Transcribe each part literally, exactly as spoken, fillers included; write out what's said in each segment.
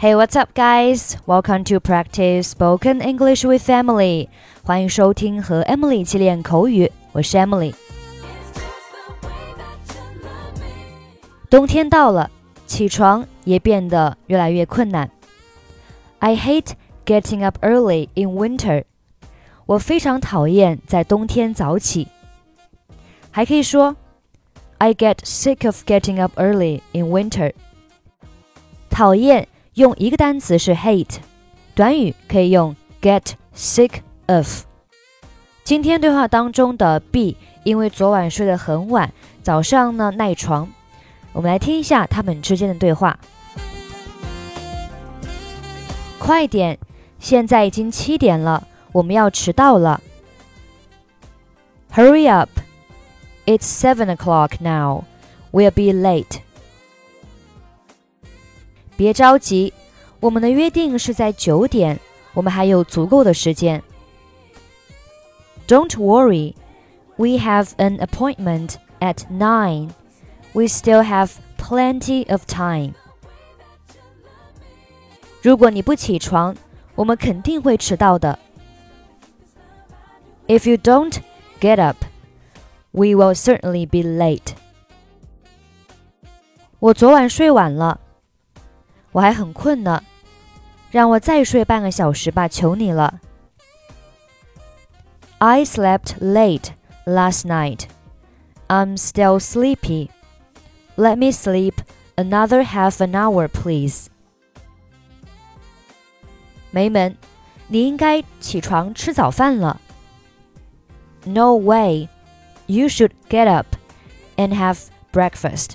Hey, what's up, guys? Welcome to practice spoken English with Emily. 欢迎收听和 Emily 一起练口语，我是 Emily。冬天到了，起床也变得越来越困难。I hate getting up early in winter. 我非常讨厌在冬天早起。还可以说 I get sick of getting up early in winter. 讨厌用一个单词是 hate， 短语可以用 get sick of。 今天对话当中的 B 因为昨晚睡得很晚，早上呢赖床。我们来听一下他们之间的对话。快点，现在已经七点了，我们要迟到了。 Hurry up, it's seven o'clock now, we'll be late. 别着急，我们的约定是在九点，我们还有足够的时间。 Don't worry, we have an appointment at nine. We still have plenty of time. 如果你不起床，我们肯定会迟到的。 If you don't get up, we will certainly be late. 我昨晚睡晚了，我还很困呢，让我再睡半个小时吧，求你了。 I slept late last night. I'm still sleepy. Let me sleep another half an hour, please. 梅门，你应该起床吃早饭了。 No way. You should get up and have breakfast.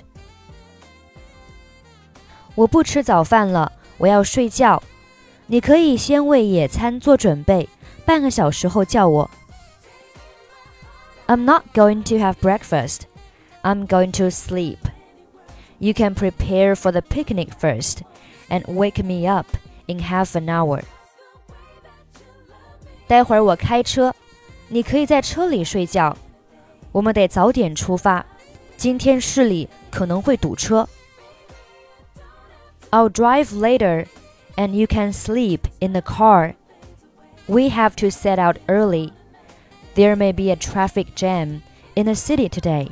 我不吃早饭了，我要睡觉。你可以先为野餐做准备，半个小时后叫我。 I'm not going to have breakfast. I'm going to sleep. You can prepare for the picnic first and wake me up in half an hour. 待会儿我开车，你可以在车里睡觉。我们得早点出发，今天市里可能会堵车。I'll drive later, and you can sleep in the car. We have to set out early. There may be a traffic jam in the city today.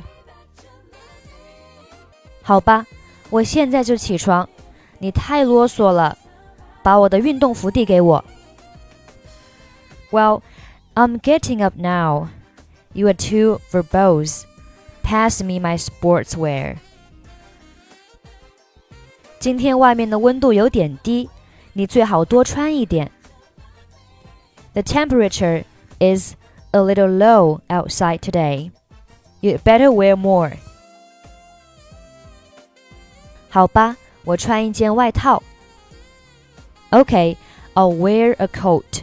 好吧，我现在就起床。你太啰嗦了，把我的运动服递给我。Well, I'm getting up now. You are too verbose. Pass me my sportswear. 今天外面的温度有点低，你最好多穿一点。The temperature is a little low outside today. You'd better wear more. 好吧，我穿一件外套。Okay, I'll wear a coat.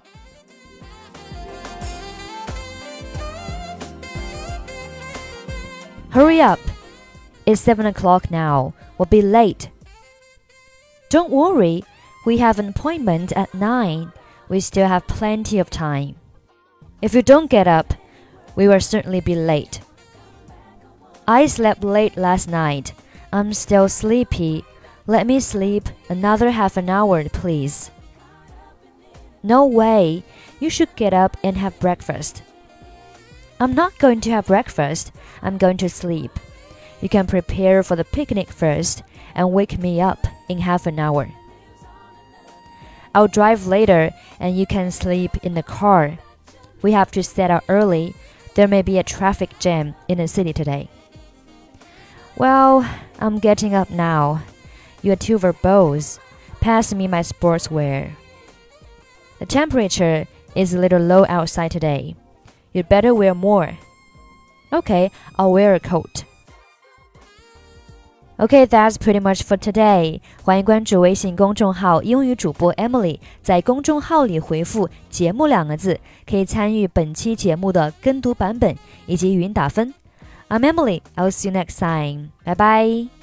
Hurry up. It's seven o'clock now. We'll be late. Don't worry. We have an appointment at nine. We still have plenty of time. If you don't get up, we will certainly be late. I slept late last night. I'm still sleepy. Let me sleep another half an hour, please. No way. You should get up and have breakfast. I'm not going to have breakfast. I'm going to sleep. You can prepare for the picnic first and wake me up in half an hour. I'll drive later and you can sleep in the car. We have to set out early. There may be a traffic jam in the city today. Well, I'm getting up now. You're too verbose. Pass me my sportswear. The temperature is a little low outside today. You'd better wear more. Okay, I'll wear a coat. Okay, that's pretty much for today. 欢迎关注微信公众号英语主播 Emily， 在公众号里回复节目两个字，可以参与本期节目的跟读版本以及语音打分。I'm Emily, I'll see you next time. Bye bye.